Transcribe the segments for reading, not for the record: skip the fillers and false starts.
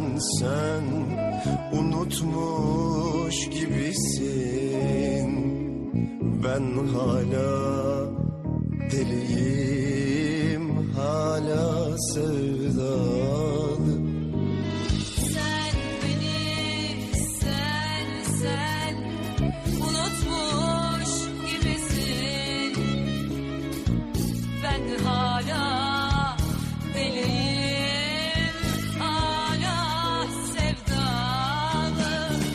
sen unutmuş gibisin. Ben hala deliyim, hala sevdalı. Sen beni, sen unutmuş gibisin. Ben hala deliyim, hala sevdalı.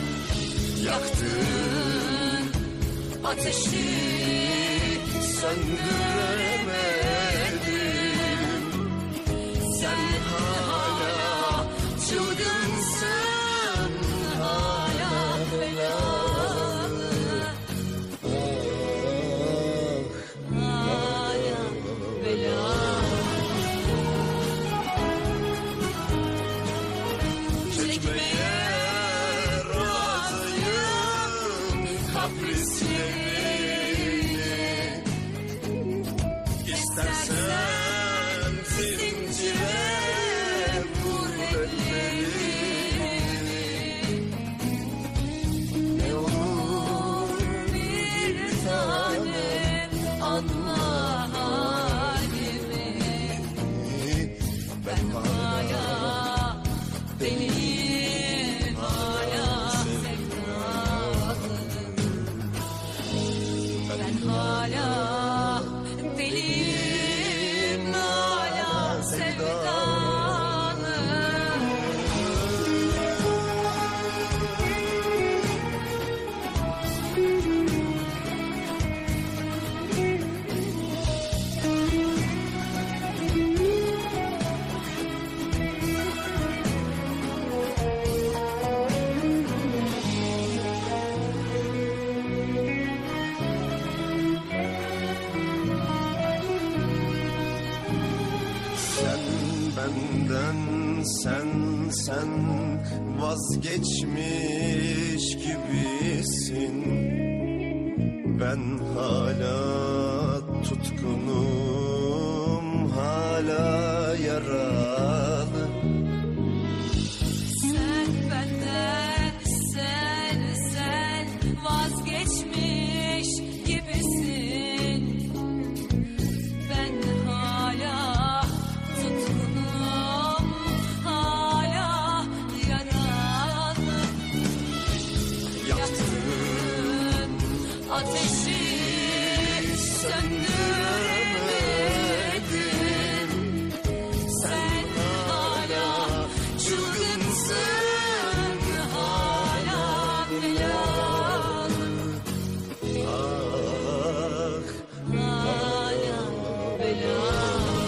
Yaktığın ateşi söndüremedim. Sen hala çılgınsın, hala belalı. Hala belalı. Çekmeye razıyım kaprislerini. İstersen zincire vur ellerini. Ne olur bir tanem anla halimi. Ben hala Deliyim, hala sevdalı. Ben hala deliyim, hala sevdalı. sen benden, sen vazgeçmiş gibisin. Ben hala tutkunum, hala yaralı. Sen benden, sen vazgeçmiş gibisin. Ben hala tutkunum, hala yaralı. Yaktığın ateşi söndüremedim. Sen hala çılgınsın, hala belalı. Hala belalı.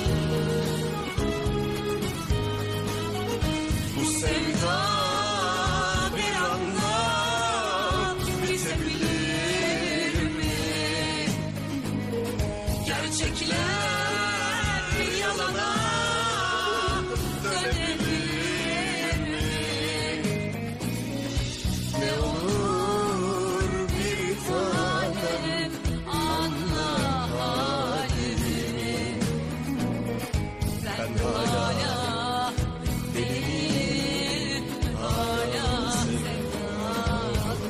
Bu sevda bir anda bitebilir mi? Gerçekler bir yalana dönebilir mi? Ne olur bir tanem Anla halimi. Ben hala deliyim, hala sevdalı.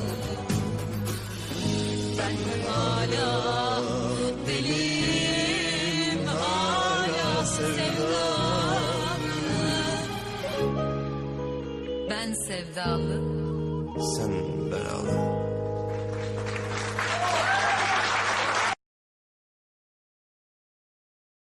Ben hala deliyim, hala sevdalı. Ben sevdalı. sen belalı.